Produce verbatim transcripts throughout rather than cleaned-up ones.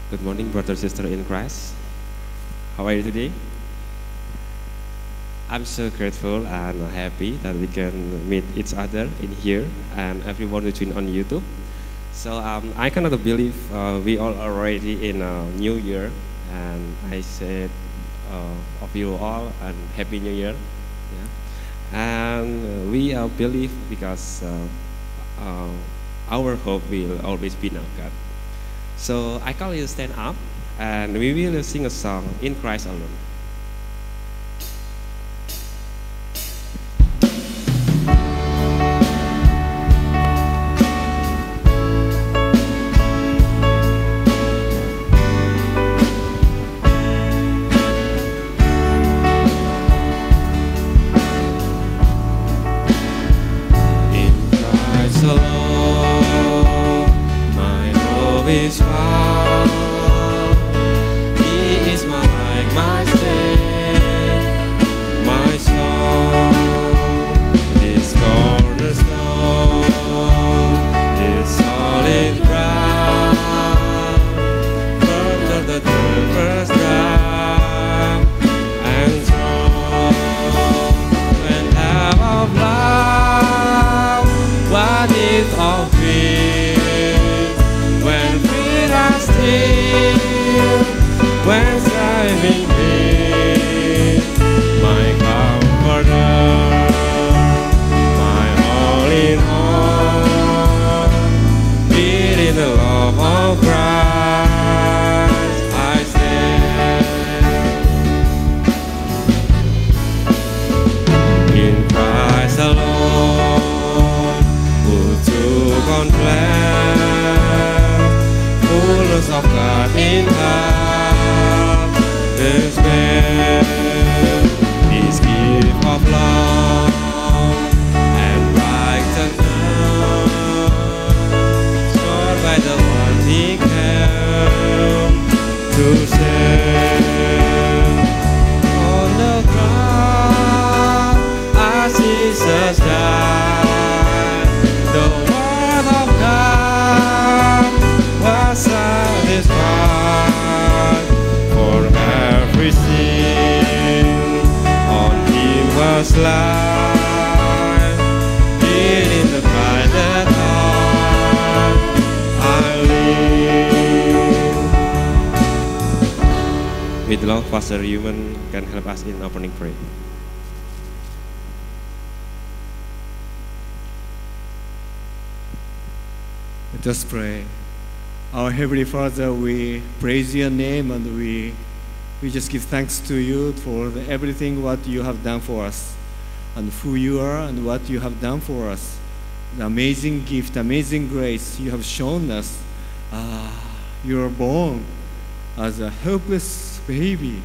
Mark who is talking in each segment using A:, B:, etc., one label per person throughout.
A: Good morning, brother, sister in Christ. How are you today? I'm so grateful and happy that we can meet each other in here and everyone who tuned on YouTube. So um, I cannot believe uh, we are already in a new year, and I said uh, of you all and happy new year. Yeah. And we uh, believe because uh, uh, our hope will always be in our God. So I call you stand up, and we will sing a song in Christ alone.
B: Is found. He is my light, my stay, my song. His cornerstone, His solid ground. From the first ground and strong. When half of love, what is of peace? When feet are still, when striving pain, my comforter, my all in all, built in the love of Christ, I stand. In Christ alone, who took on flesh, fullness of God in heart, His man, His gift of love and righteousness, scored by the one He came to save. On the cross, as Jesus died, the word of God was satisfied for every sin. On Him was life, hid in the private heart I live.
A: With love, Pastor Human can help us in opening prayer.
C: Let us pray. Our Heavenly Father, we praise your name, and we we just give thanks to you for the, everything what you have done for us, and who you are and what you have done for us. The amazing gift, amazing grace you have shown us. Uh, you are born as a helpless baby,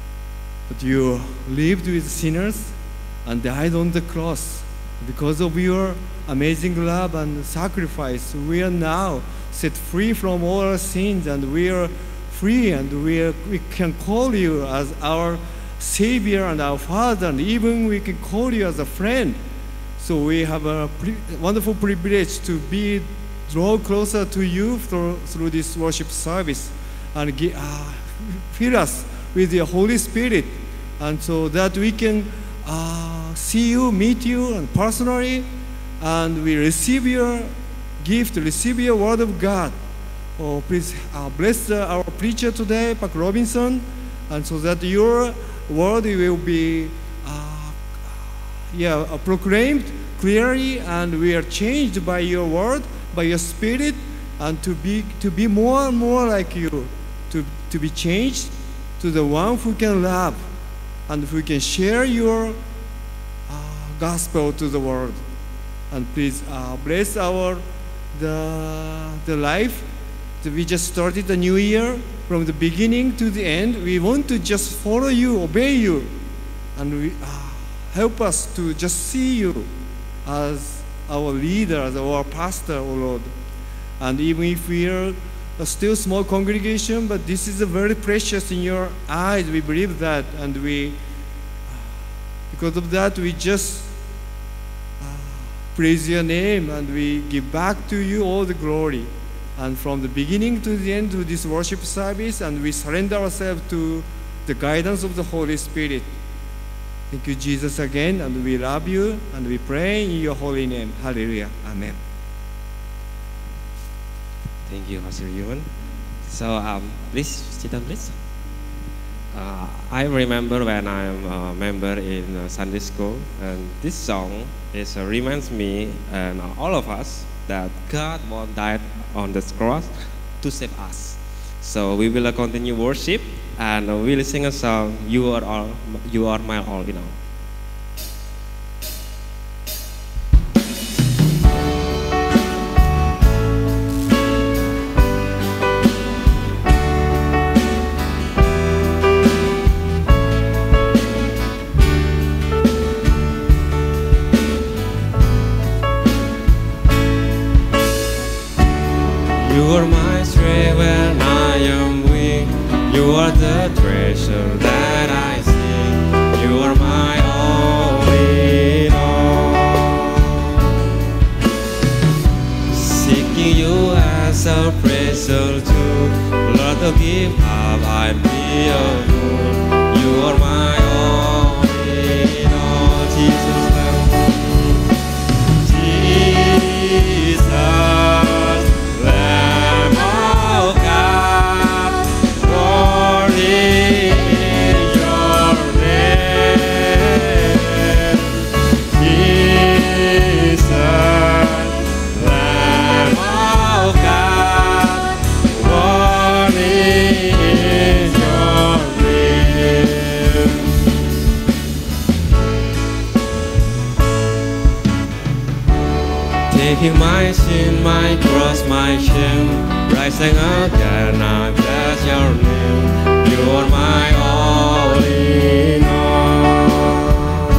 C: but you lived with sinners and died on the cross. Because of your amazing love and sacrifice, we are now set free from all our sins, and we are free, and we, are, we can call you as our Savior and our Father, and even we can call you as a friend. So we have a pri wonderful privilege to be draw closer to you through, through this worship service, and give, uh, fill us with your Holy Spirit, and so that we can uh, see you, meet you, and personally, and we receive your gift, receive your word of God. Oh, please uh, bless uh, our preacher today, Pak Robinson, and so that your word will be uh, yeah, uh, proclaimed clearly, and we are changed by your word, by your spirit, and to be to be more and more like you, to, to be changed to the one who can love and who can share your uh, gospel to the world. And please uh, bless our the the life that we just started the new year from the beginning to the end. We want to just follow you, obey you, and we uh, help us to just see you as our leader, as our pastor, oh Lord. And even if we are a still small congregation, but this is a very precious in your eyes. We believe that, and we, because of that, we just uh, praise your name, and we give back to you all the glory. and from the beginning to the end of this worship service, and we surrender ourselves to the guidance of the Holy Spirit. Thank you, Jesus, again, and we love you, and we pray in your holy name. Hallelujah. Amen.
A: Thank you, Pastor Yuan. So, um, please sit down, please. Uh, I remember when I'm a member in uh, Sunday school, and this song is uh, reminds me and all of us that God won't die on the cross to save us. So we will uh, continue worship, and uh, we will sing a song. You are all, you are my all in all.
B: You are my strength when I am weak. You are the treasure that I seek. You are my all in all. Seeking you as a precious jewel, Lord, to give up I be a fool. You are my all in all. Jesus, Jesus. Taking my sin, my cross, my shame, rising again, I bless your name. You are my all in all.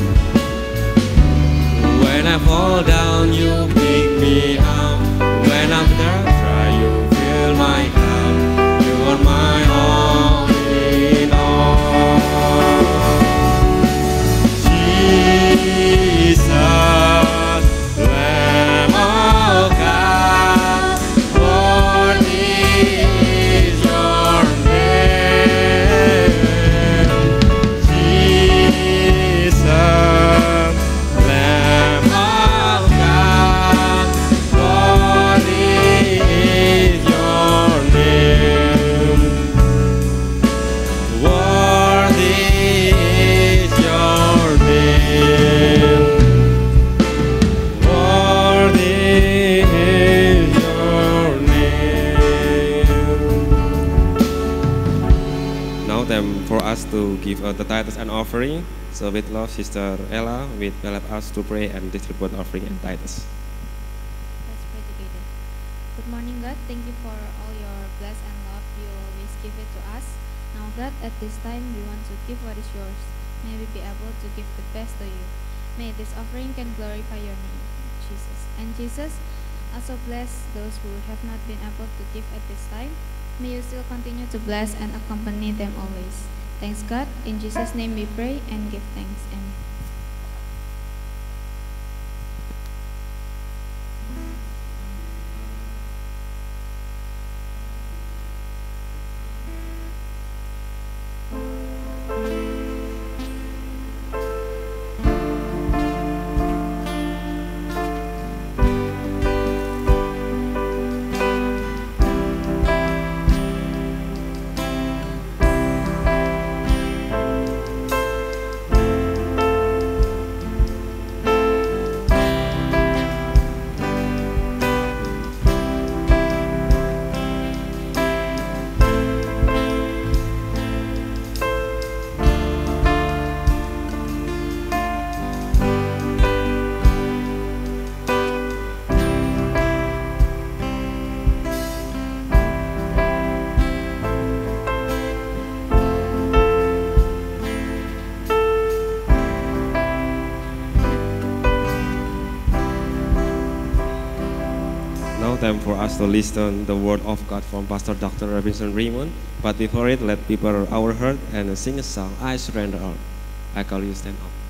B: When I fall down, you pick me up. When I'm there, try, you fill my cup. You are my all in all. Jesus.
A: To give uh, the tithes and offering. So with love, Sister Ella will help us to pray and distribute offering and tithes.
D: Let's pray together. Good morning, God. Thank you for all your bless and love you always give it to us. Now, God, at this time we want to give what is yours. May we be able to give the best to you. May this offering can glorify your name, Jesus. And Jesus, also bless those who have not been able to give at this time. May you still continue to bless and accompany them always. Thanks, God. In Jesus' name we pray and give thanks. Amen.
A: Time for us to listen the word of God from Pastor Doctor Robinson Raymond. But before it, let people our heart and sing a song. I surrender all. I call you stand up.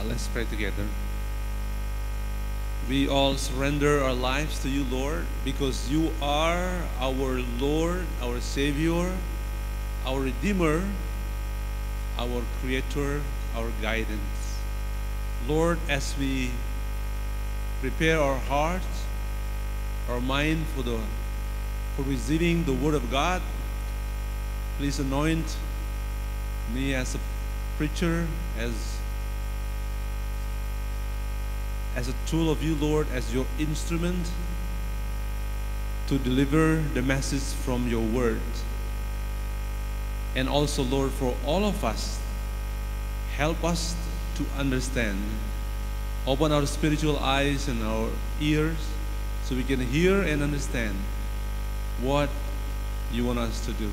E: Uh, let's pray together. We all surrender our lives to you, Lord, because you are our Lord, our Savior, our Redeemer, our Creator, our guidance. Lord, as we prepare our hearts, our mind for the for receiving the Word of God, please anoint me as a preacher, as as a tool of you, Lord, as your instrument to deliver the message from your word. And also, Lord, for all of us, help us to understand. Open our spiritual eyes and our ears so we can hear and understand what you want us to do.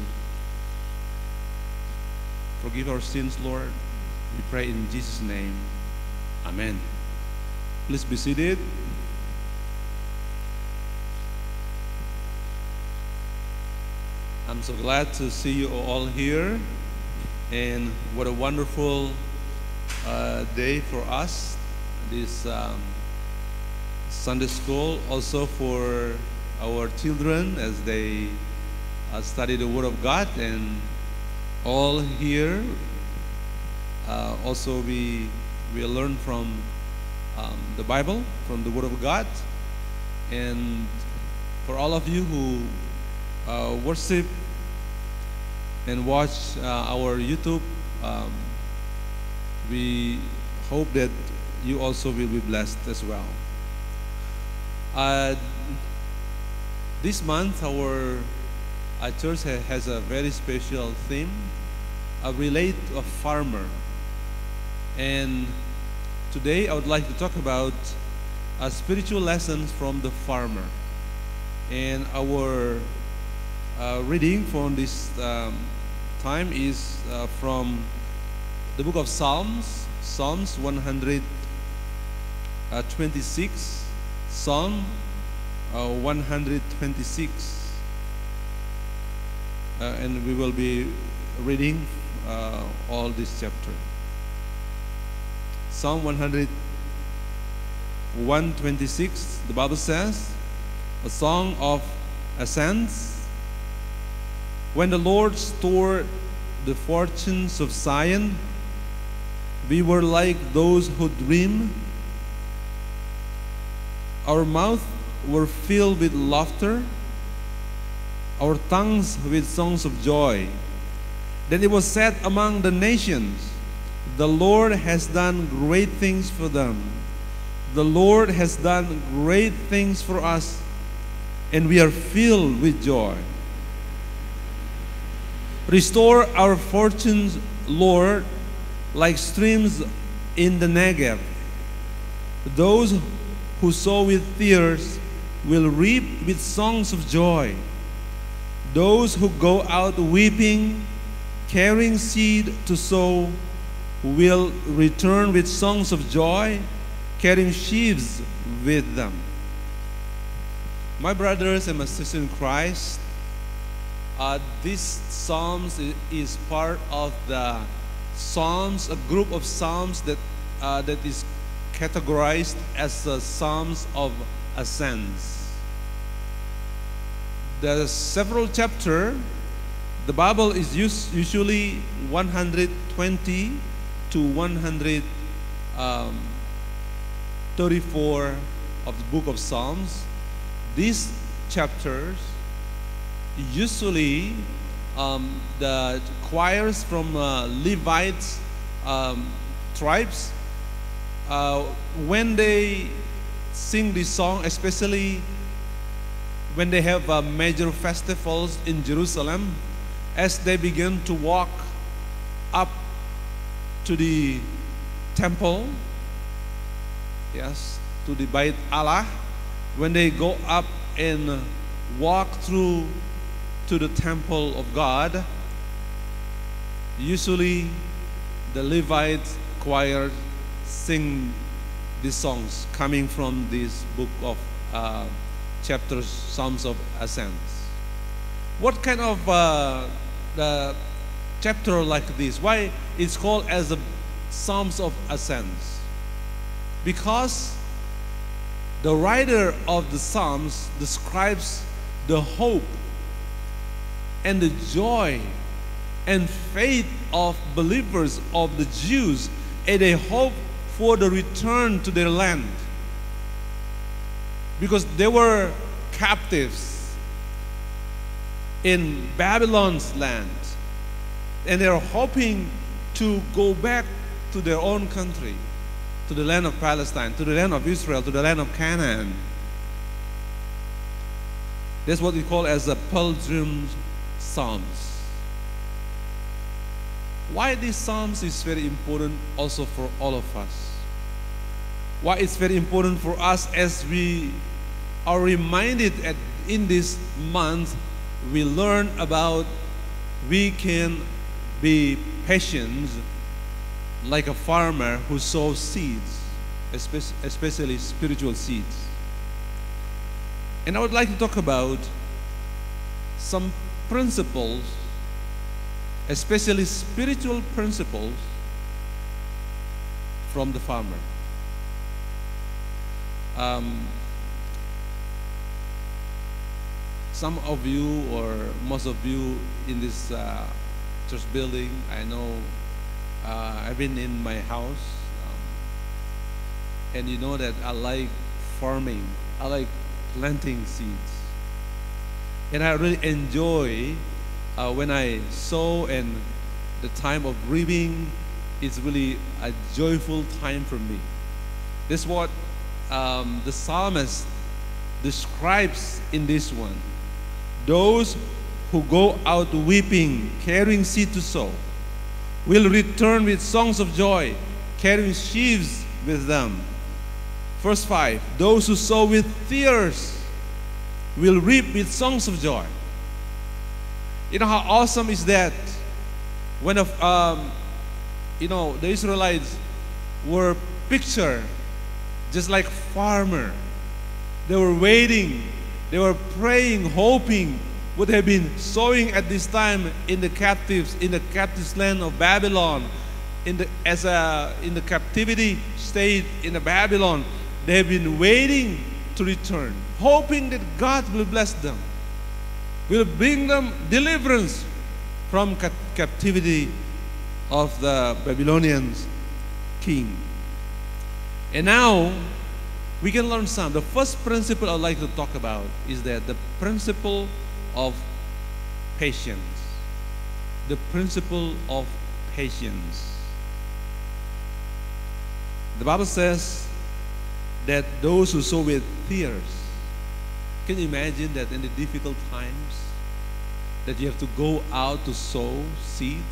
E: Forgive our sins, Lord. We pray in Jesus' name. Amen. Please be seated. I'm so glad to see you all here, and what a wonderful uh, day for us, this um, Sunday school, also for our children as they uh, study the Word of God, and all here uh, also we we learn from Um, the Bible, from the Word of God. And for all of you who uh, worship and watch uh, our YouTube, um, we hope that you also will be blessed as well. Uh, this month our, our church ha has a very special theme, uh, relate to a farmer. And today I would like to talk about uh, spiritual lessons from the farmer. And our uh, reading from this um, time is uh, from the book of Psalms, Psalms one hundred twenty-six, Psalm uh, one hundred twenty-six. Uh, and we will be reading uh, all this chapter. Psalm one hundred twenty-six, the Bible says, a song of ascents. When the Lord stored the fortunes of Zion, we were like those who dream. Our mouths were filled with laughter, our tongues with songs of joy. Then it was said among the nations, the Lord has done great things for them. The Lord has done great things for us, and we are filled with joy. Restore our fortunes, Lord, like streams in the Negev. Those who sow with tears will reap with songs of joy. Those who go out weeping, carrying seed to sow, will return with songs of joy, carrying sheaves with them. My brothers and my sisters in Christ, uh, this Psalms is part of the Psalms, a group of Psalms that uh, that is categorized as the Psalms of Ascents. There are several chapters. The Bible is used usually one hundred twenty to one hundred thirty-four of the book of Psalms. These chapters usually um, the choirs from uh, Levites um, tribes, uh, when they sing this song, especially when they have uh, major festivals in Jerusalem, as they begin to walk up to the temple, yes, to the Bait Allah, when they go up and walk through to the temple of God, usually the Levite choir sing these songs coming from this book of uh, chapters, Psalms of Ascents. What kind of uh, the chapter like this? Why it's called as the Psalms of Ascents? Because the writer of the Psalms describes the hope and the joy and faith of believers, of the Jews, and they hope for the return to their land. Because they were captives in Babylon's land, and they're hoping to go back to their own country, to the land of Palestine, to the land of Israel, to the land of Canaan. That's what we call as the pilgrim psalms. Why these psalms is very important also for all of us. Why it's very important for us as we are reminded at, in this month, we learn about we can be patient like a farmer who sows seeds, especially spiritual seeds. And I would like to talk about some principles, especially spiritual principles from the farmer. Um, some of you or most of you in this uh, church building, I know uh, I've been in my house, um, and you know that I like farming. I like planting seeds. And I really enjoy uh, when I sow, and the time of reaping is really a joyful time for me. This is what um, the psalmist describes in this one. Those who go out weeping, carrying seed to sow, will return with songs of joy, carrying sheaves with them. Verse five, those who sow with tears will reap with songs of joy. You know how awesome is that? When of, um, you know, the Israelites were pictured just like farmer. They were waiting, they were praying, hoping, would have been sowing at this time in the captives, in the captives land of Babylon, in the as a in the captivity state in the Babylon. They have been waiting to return, hoping that God will bless them, will bring them deliverance from ca- captivity of the Babylonian king. And now we can learn some. The first principle I'd like to talk about is that the principle of patience. The principle of patience. The Bible says that those who sow with tears, can you imagine that in the difficult times that you have to go out to sow seeds?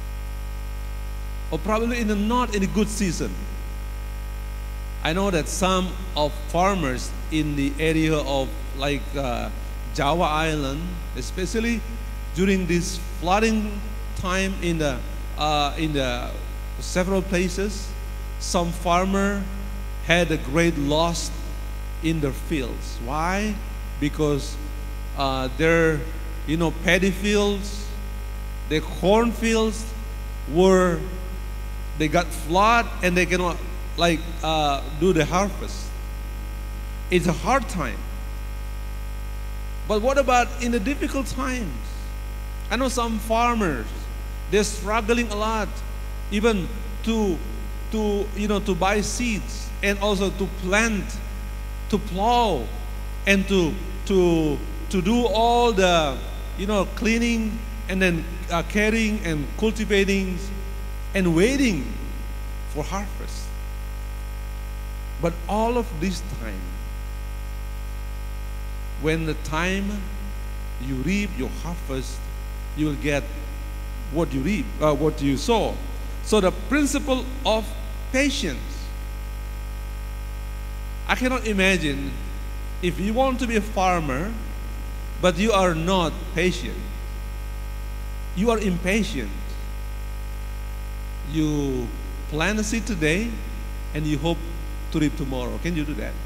E: Or probably in the not in a good season. I know that some of farmers in the area of like uh, Java Island, especially during this flooding time in the uh, in the several places, some farmer had a great loss in their fields. Why? Because uh, their you know paddy fields, their corn fields were they got flood and they cannot like uh, do the harvest. It's a hard time. But what about in the difficult times? I know some farmers, they're struggling a lot, even to to you know to buy seeds and also to plant, to plow, and to to to do all the you know cleaning and then uh, carrying and cultivating and waiting for harvest. But all of this time, when the time you reap your harvest, you will get what you reap, uh, what you sow. So the principle of patience. I cannot imagine if you want to be a farmer, but you are not patient. You are impatient. You plant a seed today, and you hope to reap tomorrow. Can you do that?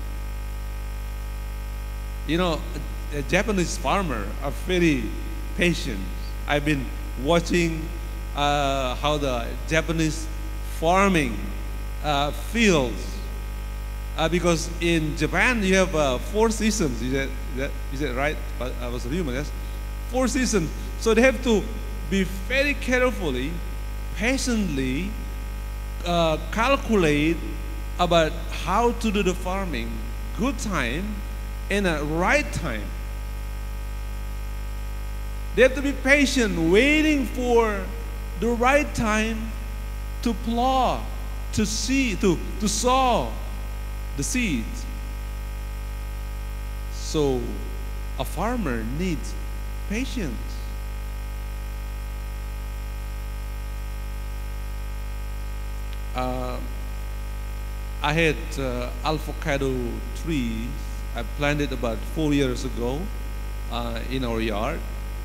E: You know, a, a Japanese farmer are very patient. I've been watching uh, how the Japanese farming uh, fields Uh, because in Japan you have uh, four seasons. Is that, is that, is that right? But I was human, yes? Four seasons. So they have to be very carefully, patiently uh, calculate about how to do the farming, good time and a right time. They have to be patient, waiting for the right time to plow, to see, to, to sow the seeds. So a farmer needs patience. Uh, I had uh, avocado trees I planted about four years ago uh, in our yard.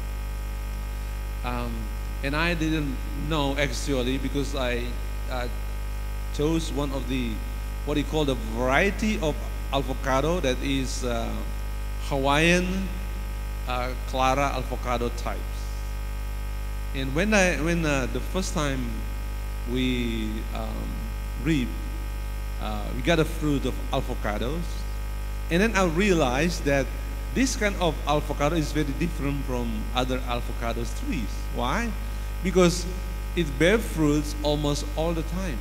E: Um, and I didn't know actually because I uh, chose one of the, what you call the variety of avocado that is uh, Hawaiian uh, Clara avocado types. And when I, when uh, the first time we um, reap, uh, we got a fruit of avocados, and then I realized that this kind of avocado is very different from other avocado trees. Why? Because it bears fruits almost all the time.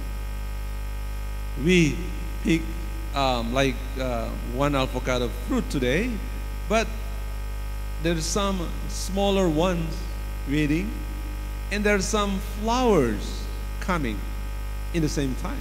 E: We pick um, like uh, one avocado fruit today, but there's some smaller ones waiting, and there's some flowers coming in the same time.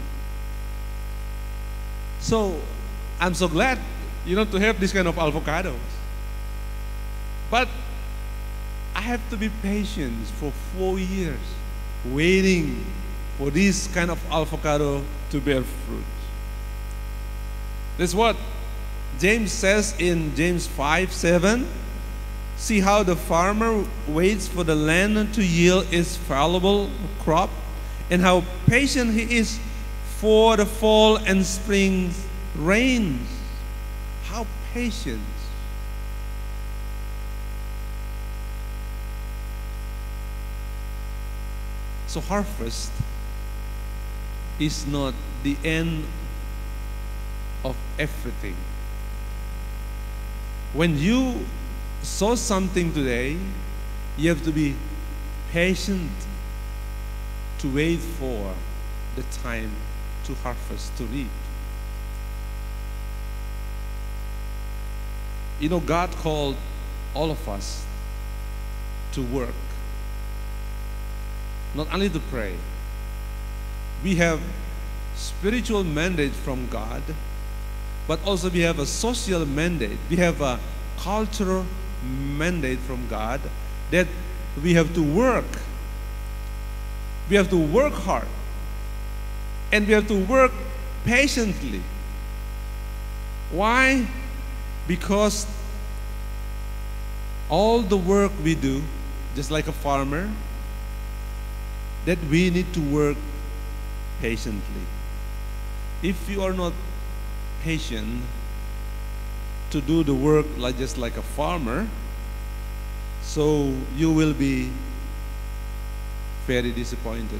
E: So I'm so glad, you know, to have this kind of avocados. But I have to be patient for four years, waiting for this kind of avocado to bear fruit. That's what James says in James five seven. See how the farmer waits for the land to yield its valuable crop, and how patient he is for the fall and spring rains. How patient. So harvest is not the end of everything. When you sow something today, you have to be patient to wait for the time to harvest, to reap. You know, God called all of us to work, not only to pray. We have spiritual mandate from God, but also we have a social mandate. We have a cultural mandate from God that we have to work. We have to work hard. And we have to work patiently. Why? Because all the work we do, just like a farmer, that we need to work patiently. If you are not patient to do the work like just like a farmer, so you will be very disappointed.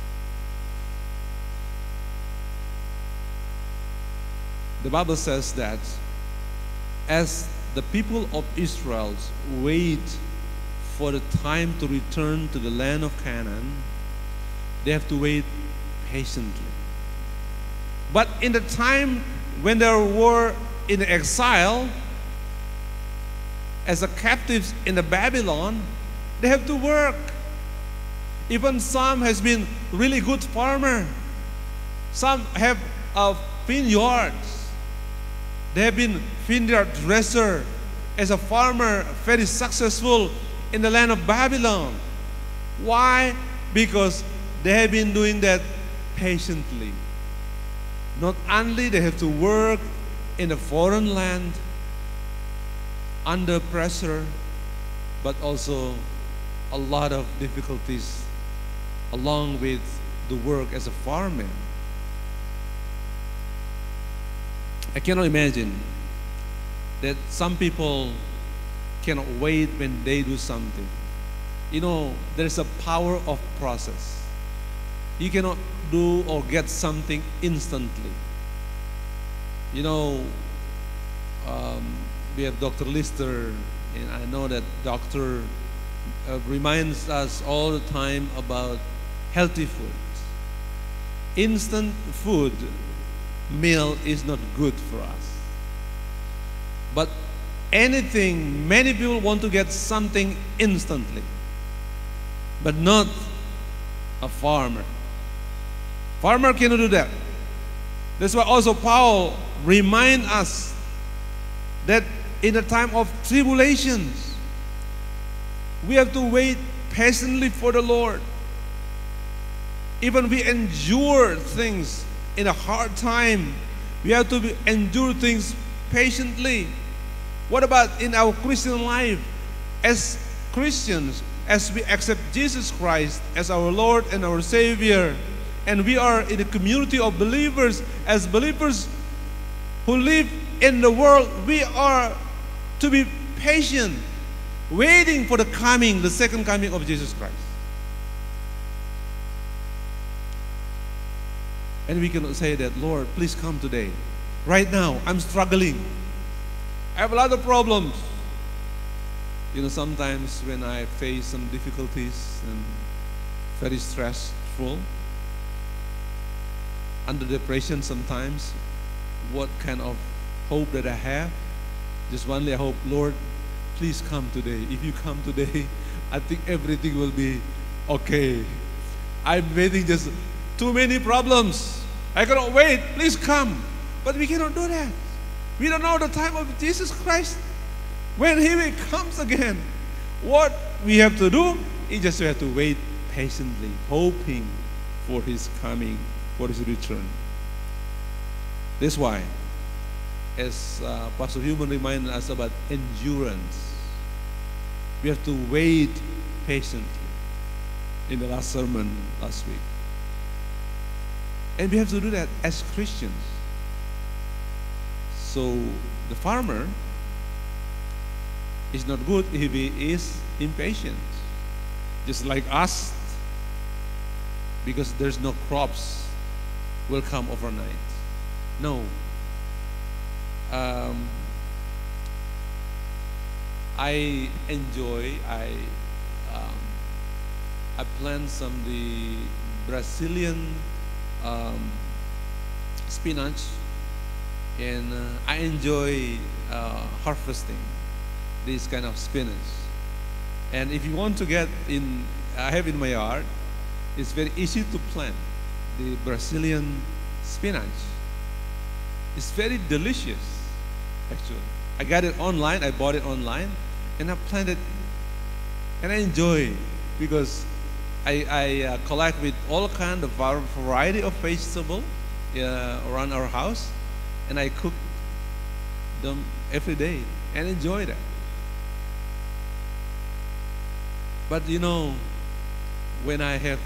E: The Bible says that as the people of Israel wait for the time to return to the land of Canaan, they have to wait patiently. But in the time when they were in exile, as a captives in the Babylon, they have to work. Even some has been really good farmer. Some have uh, vineyards. They have been vineyard dresser as a farmer, very successful in the land of Babylon. Why? Because they have been doing that patiently. Not only they have to work in a foreign land under pressure, but also a lot of difficulties along with the work as a farmer. I cannot imagine that some people cannot wait when they do something. You know, there's a power of process. You cannot do or get something instantly. You know, um, we have Doctor Lister, and I know that Doctor uh, reminds us all the time about healthy food. Instant food meal is not good for us. But anything, many people want to get something instantly, but not a farmer. Farmer cannot do that. That's why also Paul reminds us that in a time of tribulations, we have to wait patiently for the Lord. Even we endure things in a hard time, we have to be, endure things patiently. What about in our Christian life? As Christians, as we accept Jesus Christ as our Lord and our Savior, and we are in a community of believers, as believers who live in the world, we are to be patient, waiting for the coming, the second coming of Jesus Christ. And we cannot say that, Lord, please come today. Right now, I'm struggling. I have a lot of problems. You know, sometimes when I face some difficulties and very stressful, under depression sometimes, what kind of hope that I have? Just only I hope, Lord, please come today. If you come today, I think everything will be okay. I'm waiting just too many problems. I cannot wait. Please come. But we cannot do that. We don't know the time of Jesus Christ. When He comes again, what we have to do is just we have to wait patiently, hoping for His coming, for His return. That's why, as uh, Pastor Human reminded us about endurance, we have to wait patiently in the last sermon last week. And we have to do that as Christians. So the farmer is not good if he is impatient, just like us, because there's no crops will come overnight. No. Um, I enjoy, I um, I plant some the Brazilian um, spinach, and uh, I enjoy uh, harvesting this kind of spinach. And if you want to get in, I have in my yard, it's very easy to plant the Brazilian spinach. It's very delicious, actually. I got it online, I bought it online, and I planted, and I enjoy it because I, I uh, collect with all kind of variety of vegetable uh, around our house, and I cook them every day and enjoy that. But you know, when I have,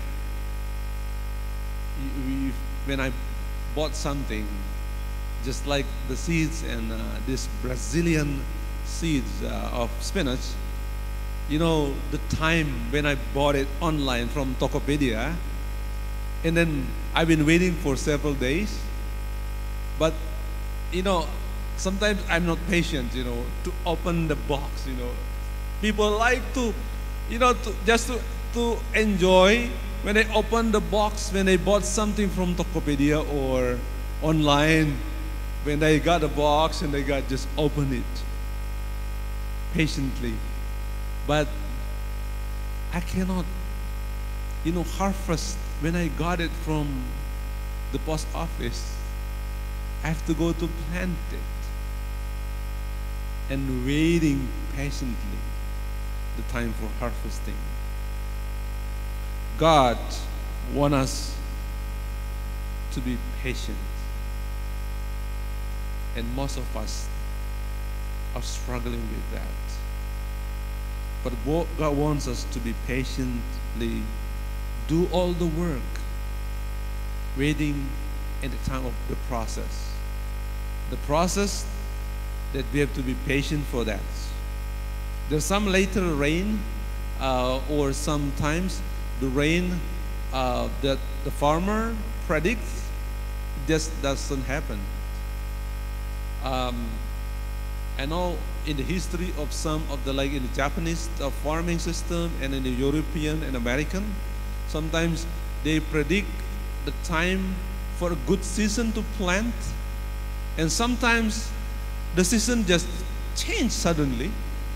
E: when I bought something, just like the seeds and uh, this Brazilian seeds uh, of spinach, you know, the time when I bought it online from Tokopedia, and then I've been waiting for several days. But, you know, sometimes I'm not patient, you know, to open the box, you know. People like to, you know, to, just to, to enjoy when they open the box, when they bought something from Tokopedia or online, when they got a box and they got just open it patiently. But I cannot, you know, harvest when I got it from the post office. I have to go to plant it and waiting patiently the time for harvesting. God wants us to be patient, and most of us are struggling with that. But God wants us to be patiently do all the work, waiting in the time of the process. The process that we have to be patient for that. There's some later rain, uh, or sometimes the rain uh, that the farmer predicts just doesn't happen. Um, I know in the history of some of the, like in the Japanese uh, farming system and in the European and American, sometimes they predict the time for a good season to plant, and sometimes the season just change suddenly.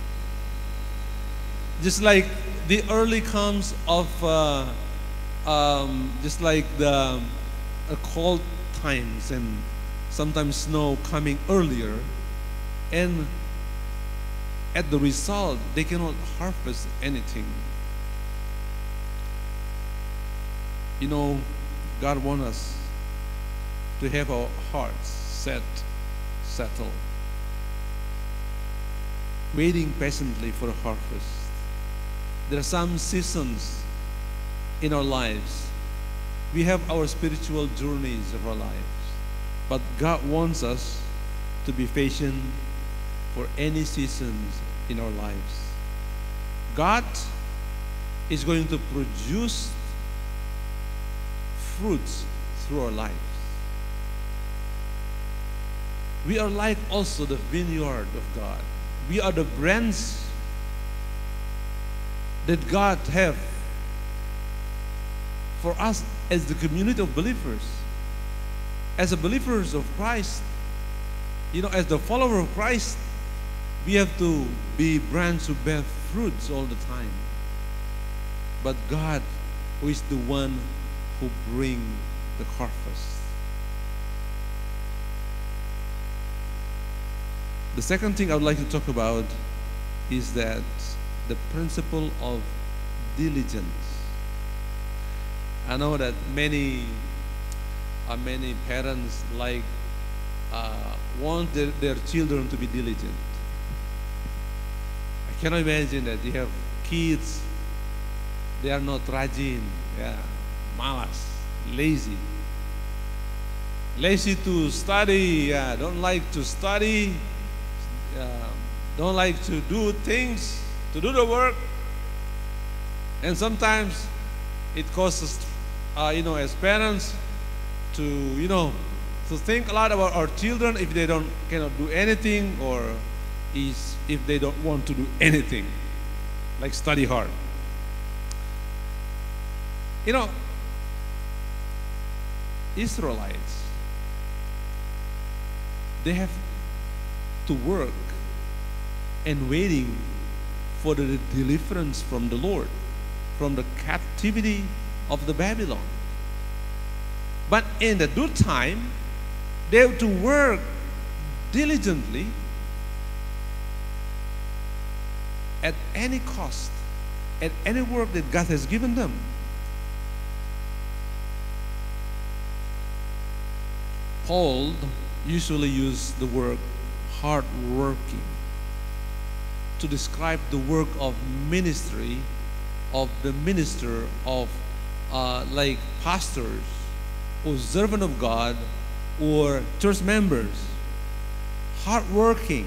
E: Just like the early comes of, uh, um, just like the uh, cold times and sometimes snow coming earlier, and at the result, they cannot harvest anything. You know, God wants us to have our hearts set, settled, waiting patiently for a harvest. There are some seasons in our lives. We have our spiritual journeys of our lives, but God wants us to be patient for any seasons in our lives. God is going to produce fruits through our lives. We are like also the vineyard of God. We are the branch that God have for us as the community of believers. As a believers of Christ, you know, as the follower of Christ, we have to be branches who bear fruits all the time. But God, who is the one who brings the harvest. The second thing I would like to talk about is that the principle of diligence. I know that many, uh, many parents like uh, want their, their children to be diligent. I cannot imagine that you have kids, they are not rajin, yeah, malas, lazy. Lazy to study, yeah, don't like to study, uh, don't like to do things, to do the work. And sometimes it causes, uh, you know, as parents to, you know, to think a lot about our children if they don't cannot do anything, or is if they don't want to do anything, like study hard. You know, Israelites, they have to work and waiting for the deliverance from the Lord, from the captivity of the Babylon. But in the due time, they have to work diligently at any cost, at any work that God has given them. Paul usually used the word hard working to describe the work of ministry of the minister of uh, like pastors or servant of God or church members. Hard working.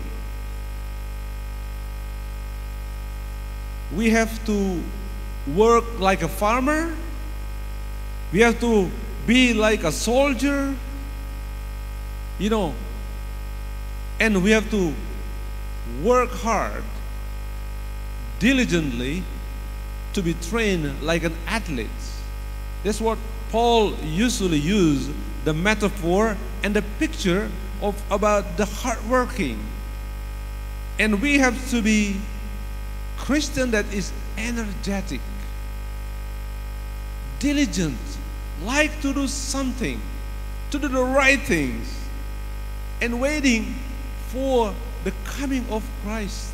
E: We have to work like a farmer. We have to be like a soldier, you know, and we have to work hard, diligently, to be trained like an athlete. That's what Paul usually used, the metaphor and the picture of about the hard working. And we have to be Christian that is energetic, diligent, like to do something, to do the right things, and waiting for the coming of Christ.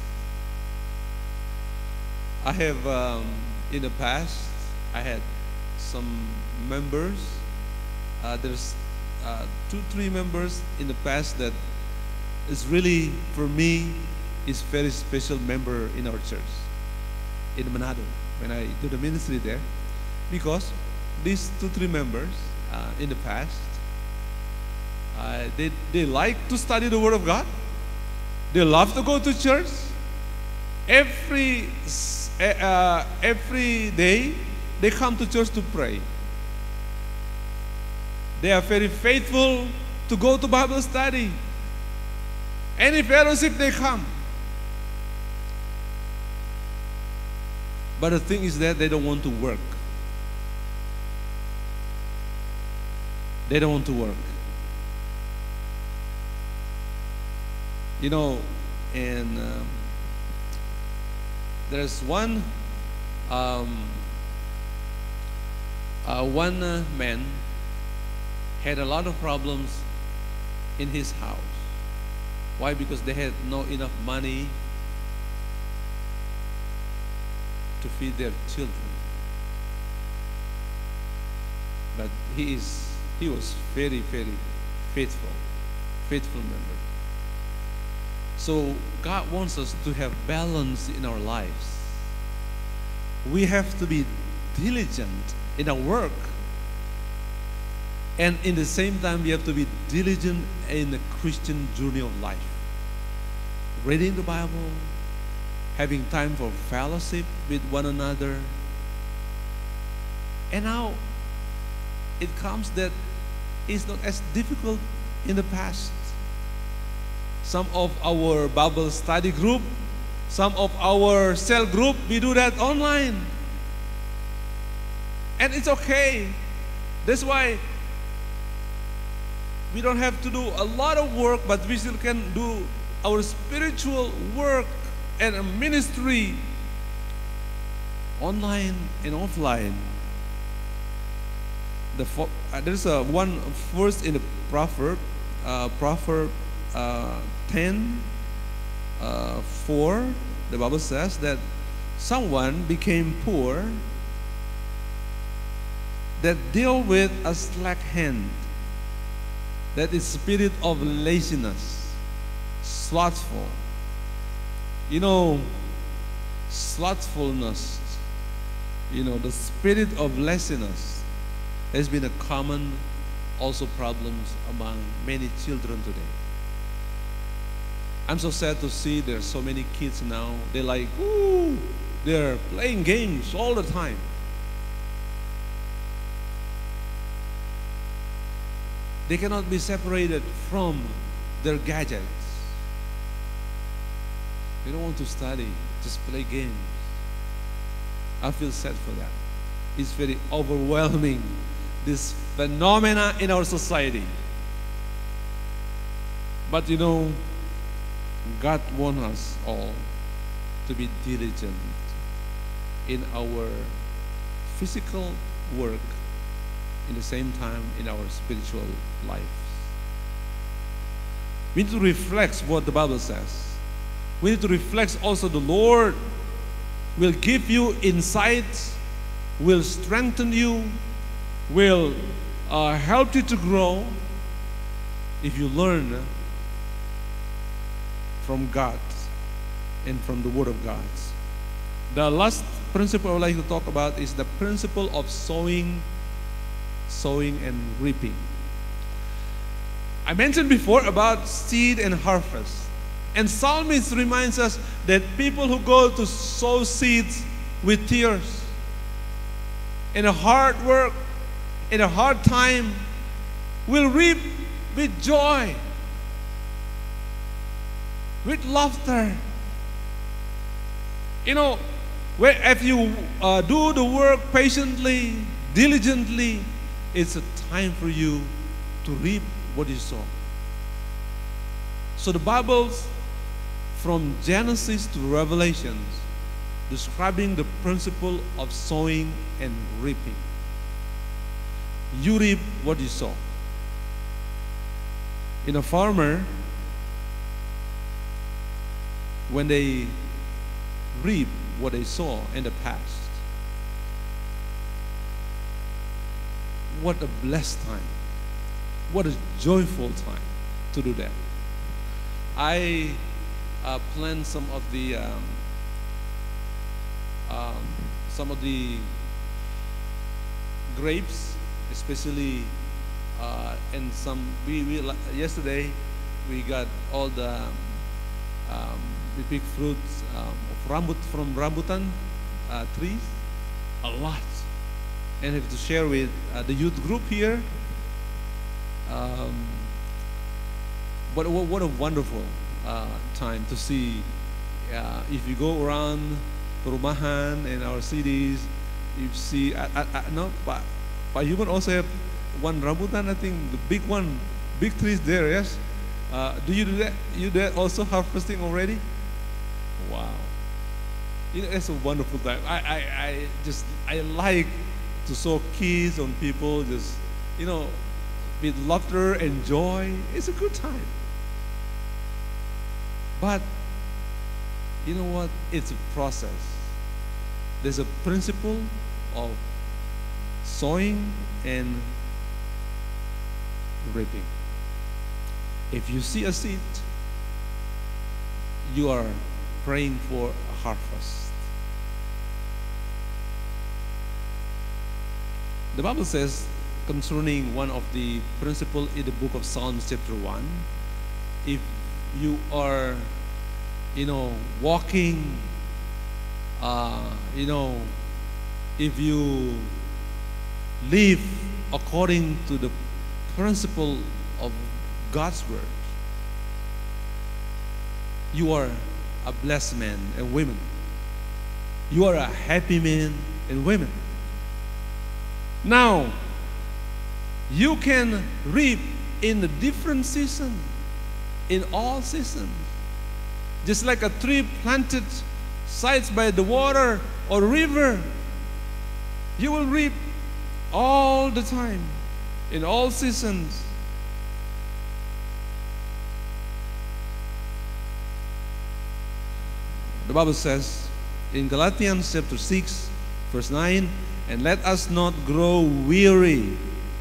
E: I have, um, in the past, I had some members, uh, there's uh, two, three members in the past that is really, for me, is very special member in our church, in Manado, when I do the ministry there. Because these two, three members uh, in the past, uh, they, they like to study the Word of God. They love to go to church. Every, uh, every day, they come to church to pray. They are very faithful to go to Bible study. Any fellowship they come. But the thing is that they don't want to work. They don't want to work. You know, and um, there's one um, uh, one uh, man had a lot of problems in his house. Why? Because they had not enough money to feed their children. But he is he was very, very faithful, faithful member. So God wants us to have balance in our lives. We have to be diligent in our work. And in the same time, we have to be diligent in the Christian journey of life. Reading the Bible, having time for fellowship with one another. And now, it comes that it's not as difficult in the past. Some of our Bible study group, some of our cell group, we do that online. And it's okay. That's why we don't have to do a lot of work, but we still can do our spiritual work and ministry online and offline. The uh, there's a one verse in the proverb, uh, proverb uh, ten, uh, four. The Bible says that someone became poor that deal with a slack hand, that is spirit of laziness, slothful. You know, slothfulness, you know, the spirit of laziness has been a common also problems among many children today. I'm so sad to see there's so many kids now. They're like, ooh, they're playing games all the time. They cannot be separated from their gadgets. They don't want to study, just play games. I feel sad for that. It's very overwhelming, this phenomena in our society. But you know, God wants us all to be diligent in our physical work, in the same time in our spiritual lives. We need to reflect what the Bible says. We need to reflect also the Lord will give you insights, will strengthen you, will uh, help you to grow if you learn from God and from the Word of God. The last principle I would like to talk about is the principle of sowing, sowing and reaping. I mentioned before about seed and harvest. And Psalmist reminds us that people who go to sow seeds with tears, in a hard work, in a hard time, will reap with joy, with laughter. You know, where if you uh, do the work patiently, diligently, it's a time for you to reap what you sow. So the Bible's from Genesis to Revelations describing the principle of sowing and reaping. You reap what you sow. In a farmer, when they reap what they sow in the past, what a blessed time. What a joyful time to do that. I uh, plant some of the um, um, some of the grapes, especially uh, and some. We, we yesterday we got all the um, we pick fruits um, of rambut from rambutan uh, trees, a lot, and I have to share with uh, the youth group here. Um, what, what, what a wonderful uh, time to see. Uh, if you go around perumahan in our cities, you see, I, I, I, no, Pak, Pak Human also have one rambutan, I think, the big one, big trees there, yes? Uh, do you do that? You do that also harvesting already? Wow. You know, it's a wonderful time. I, I, I just, I like to sow kids on people, just, you know, with laughter and joy. It's a good time. But, you know what? It's a process. There's a principle of sowing and reaping. If you see a seed, you are praying for a harvest. The Bible says concerning one of the principles in the book of Psalms chapter one, if you are, you know, walking, uh, you know, if you live according to the principle of God's word, you are a blessed man and women. You are a happy man and women. Now, you can reap in a different season, in all seasons. Just like a tree planted sides by the water or river, you will reap all the time, in all seasons. The Bible says in Galatians chapter six, verse nine, and let us not grow weary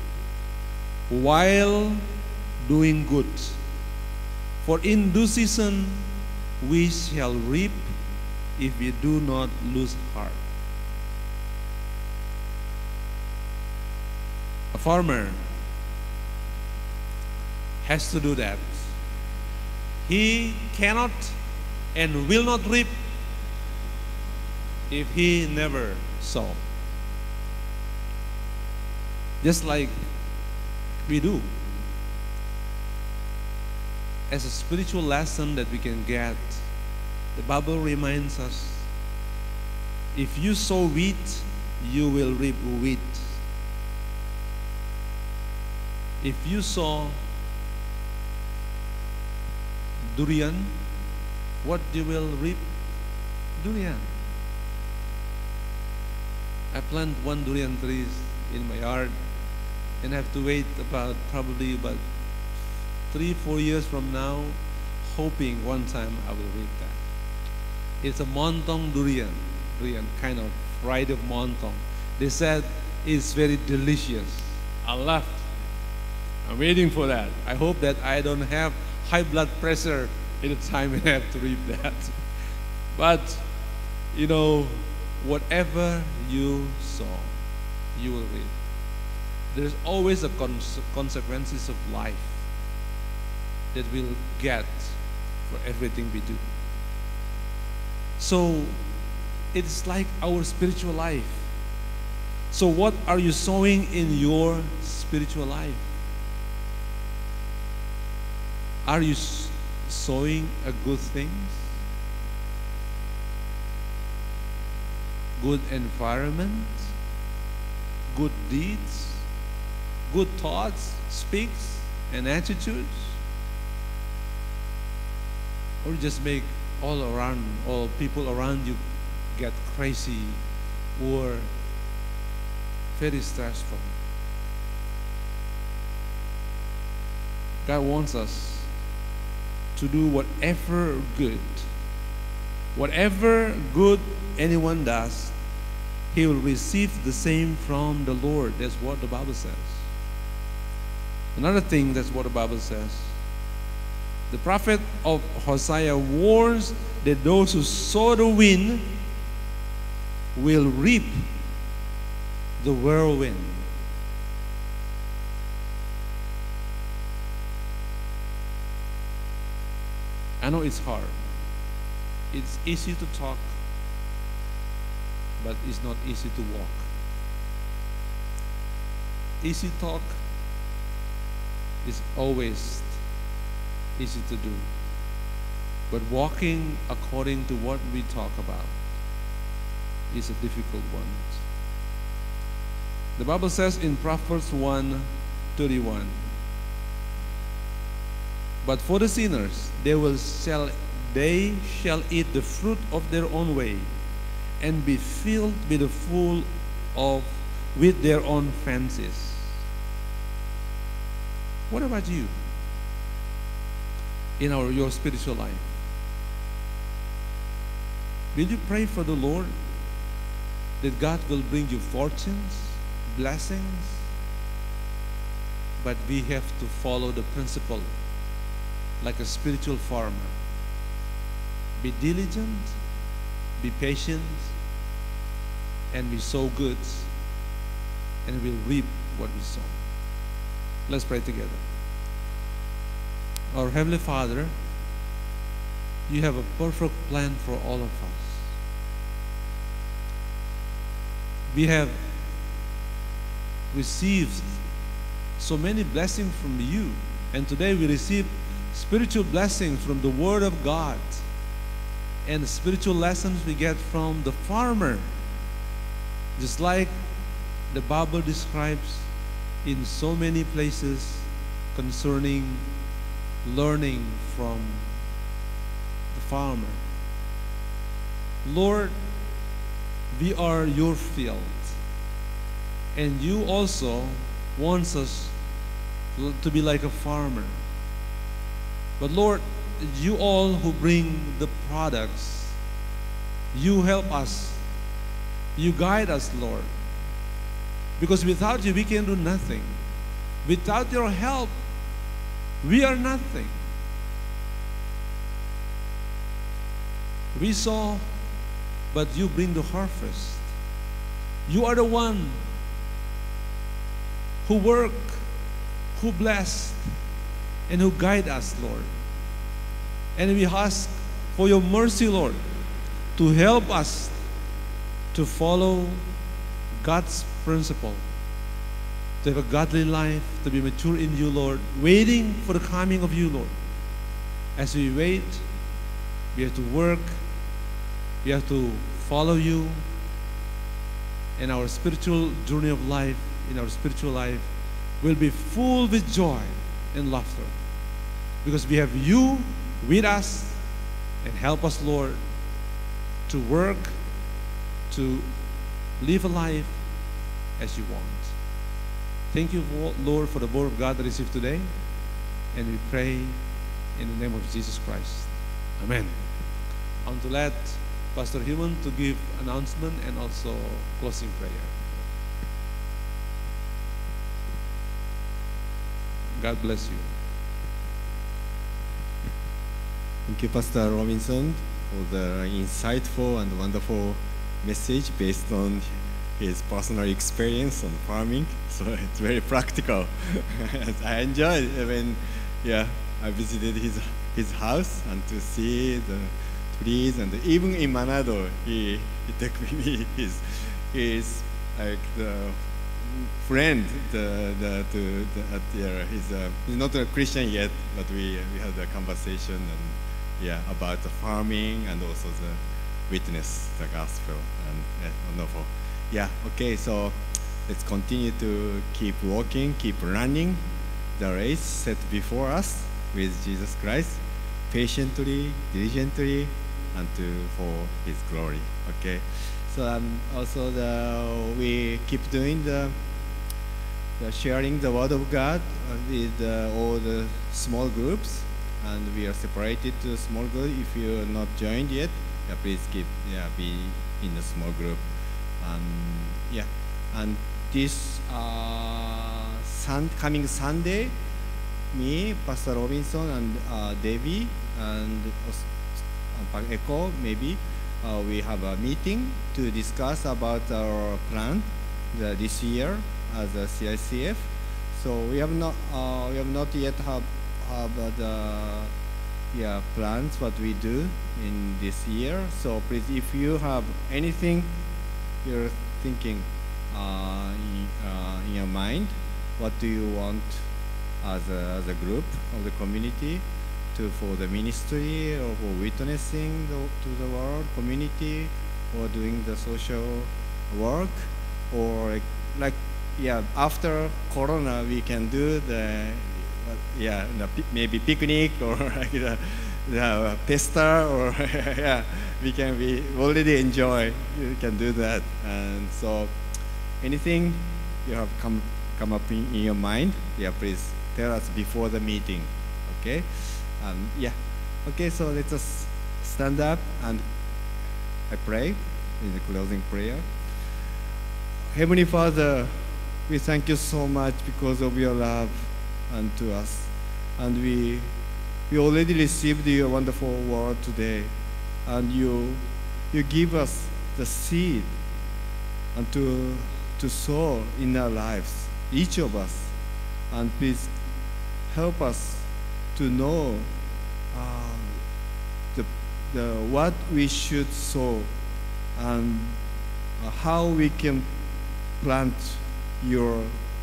E: while doing good, for in due season we shall reap if we do not lose heart. A farmer has to do that. He cannot and will not reap if he never sow. Just like we do. As a spiritual lesson that we can get, the Bible reminds us, if you sow wheat, you will reap wheat. If you sow durian, what you will reap? Durian. I plant one durian tree in my yard and have to wait about probably about three, four years from now, hoping one time I will reap that. It's a montong durian, durian kind of variety of montong. They said it's very delicious. I love it. I'm waiting for that. I hope that I don't have high blood pressure at the time when I have to reap that. But, you know, whatever you sow, you will reap. There's always a cons consequences of life that we'll get for everything we do. So it's like our spiritual life. So what are you sowing in your spiritual life? Are you sowing a good things? Good environment? Good deeds? Good thoughts, speaks, and attitudes? Or just make all around, all people around you get crazy or very stressful? God wants us to do whatever good, whatever good anyone does, he will receive the same from the Lord. That's what the Bible says. Another thing, that's what the Bible says. The prophet of Hosea warns that those who sow the wind will reap the whirlwind. I know it's hard. It's easy to talk, but it's not easy to walk. Easy talk is always easy to do. But walking according to what we talk about is a difficult one. The Bible says in Proverbs one thirty-one, but for the sinners, they will shall they shall eat the fruit of their own way, and be filled with the full of with their own fancies. What about you in our your spiritual life? Will you pray for the Lord that God will bring you fortunes, blessings? But we have to follow the principle like a spiritual farmer. Be diligent, be patient, and we sow goods, and we'll reap what we sow. Let's pray together. Our Heavenly Father, you have a perfect plan for all of us. We have received so many blessings from you, and today we receive spiritual blessings from the Word of God, and the spiritual lessons we get from the farmer, just like the Bible describes in so many places concerning learning from the farmer. Lord, we are your field, and you also want us to be like a farmer. But Lord, you all who bring the products, you help us, you guide us, Lord. Because without you, we can do nothing. Without your help, we are nothing. We sow, but you bring the harvest. You are the one who work, who bless, and who guide us, Lord. And we ask for your mercy, Lord, to help us to follow God's principle, to have a godly life, to be mature in you, Lord, waiting for the coming of you, Lord. As we wait, we have to work, we have to follow you, and our spiritual journey of life, in our spiritual life, will be full with joy and laughter. Because we have you with us, and help us, Lord, to work, to live a life as you want. Thank you, Lord, for the word of God that is received today, and we pray in the name of Jesus Christ. Amen. I want to let Pastor Human to give announcement and also closing prayer. God bless you.
C: Thank you, Pastor Robinson, for the insightful and wonderful message based on his personal experience on farming. So it's very practical. I enjoyed when, yeah, I visited his his house and to see the trees, and even in Manado, he he took me his his like the friend the the to the, at the, he's uh, he's not a Christian yet, but we we had a conversation and yeah about the farming and also the witness the gospel, and yeah, wonderful. Yeah, okay, so let's continue to keep walking, keep running the race set before us with Jesus Christ, patiently, diligently, and to for His glory. Okay, so um, also the we keep doing the, the sharing the word of God with uh, all the small groups, and we are separated to small group. If you are not joined yet, yeah, please keep yeah be in the small group. Um, yeah, and this uh, sun, coming Sunday, me, Pastor Robinson, and uh, Debbie, and uh, Echo, maybe uh, we have a meeting to discuss about our plan the, this year as a C I C F. So we have not uh, we have not yet have have uh, the yeah plans what we do in this year. So please, if you have anything you're thinking uh, in, uh, in your mind, what do you want as a, as a group of the community, to for the ministry or for witnessing the, to the world community or doing the social work or like, like yeah after Corona we can do the uh, yeah the, maybe picnic or like the, the pesta or yeah we can we already enjoy you can do that. And so anything you have come come up in, in your mind, yeah, please tell us before the meeting. Okay, um, yeah, okay. So let us stand up and I pray in the closing prayer. Heavenly Father, we thank you so much because of your love unto us, and we we already received your wonderful word today, and you you give us the seed and to to sow in our lives, each of us, and please help us to know uh, the, the what we should sow and uh, how we can plant your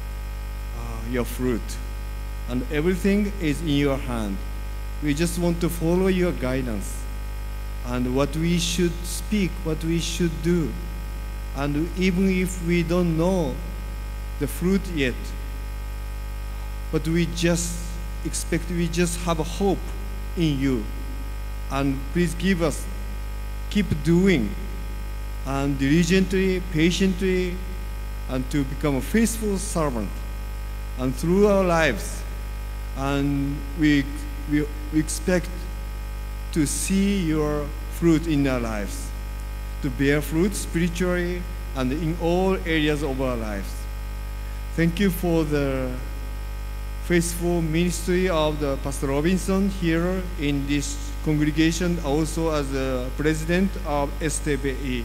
C: uh, your fruit, and everything is in your hand. We just want to follow your guidance and what we should speak, what we should do. And even if we don't know the fruit yet, but we just expect, we just have a hope in you. And please give us, keep doing, and diligently, patiently, and to become a faithful servant. And through our lives, and we, we, we expect to see your fruit in our lives, to bear fruit spiritually and in all areas of our lives. Thank you for the faithful ministry of the Pastor Robinson here in this congregation, also as the president of S T B E.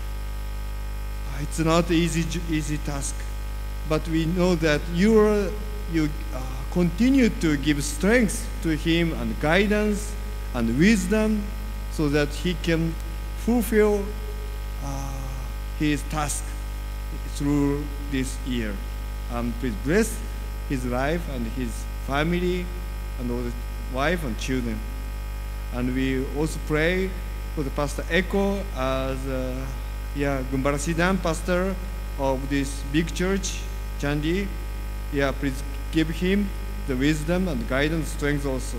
C: It's not an easy, easy task, but we know that you, are, you uh, continue to give strength to him and guidance and wisdom so that he can fulfill uh, his task through this year. Um, please bless his life and his family and all the wife and children. And we also pray for the Pastor Eko as uh, yeah, Gumbarasidan pastor of this big church, Chandi. Yeah, please give him the wisdom and guidance, strength also.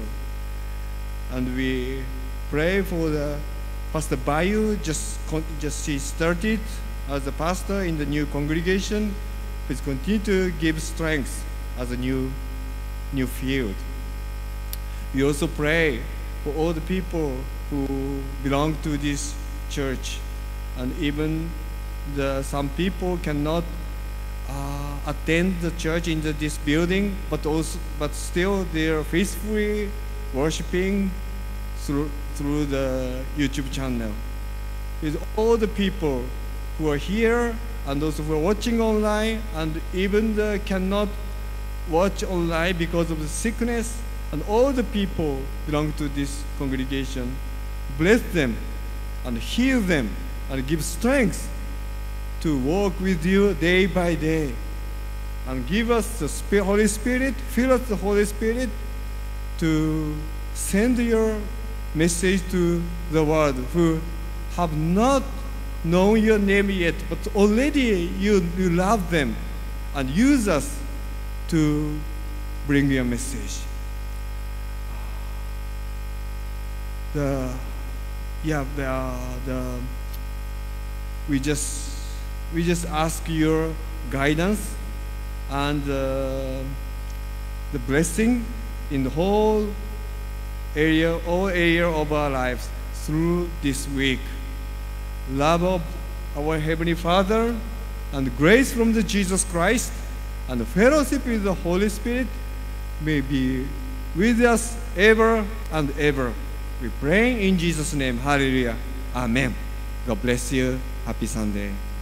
C: And we pray for the Pastor Bayu, just, just she started as a pastor in the new congregation. Please continue to give strength as a new, new field. We also pray for all the people who belong to this church, and even the, some people cannot uh, attend the church in the, this building, but also, but still they are faithfully worshiping through through the YouTube channel. With all the people who are here and those who are watching online and even the cannot watch online because of the sickness, and all the people belong to this congregation, bless them and heal them and give strength to walk with you day by day. And give us the Holy Spirit, fill us the Holy Spirit to send your message to the world who have not known your name yet, but already you, you love them, and use us to bring your message. The yeah the the we just we just ask your guidance and uh, the blessing in the whole area, all area of our lives through this week. Love of our Heavenly Father and grace from the Jesus Christ and the fellowship with the Holy Spirit may be with us ever and ever. We pray in Jesus' name. Hallelujah. Amen. God bless you. Happy Sunday.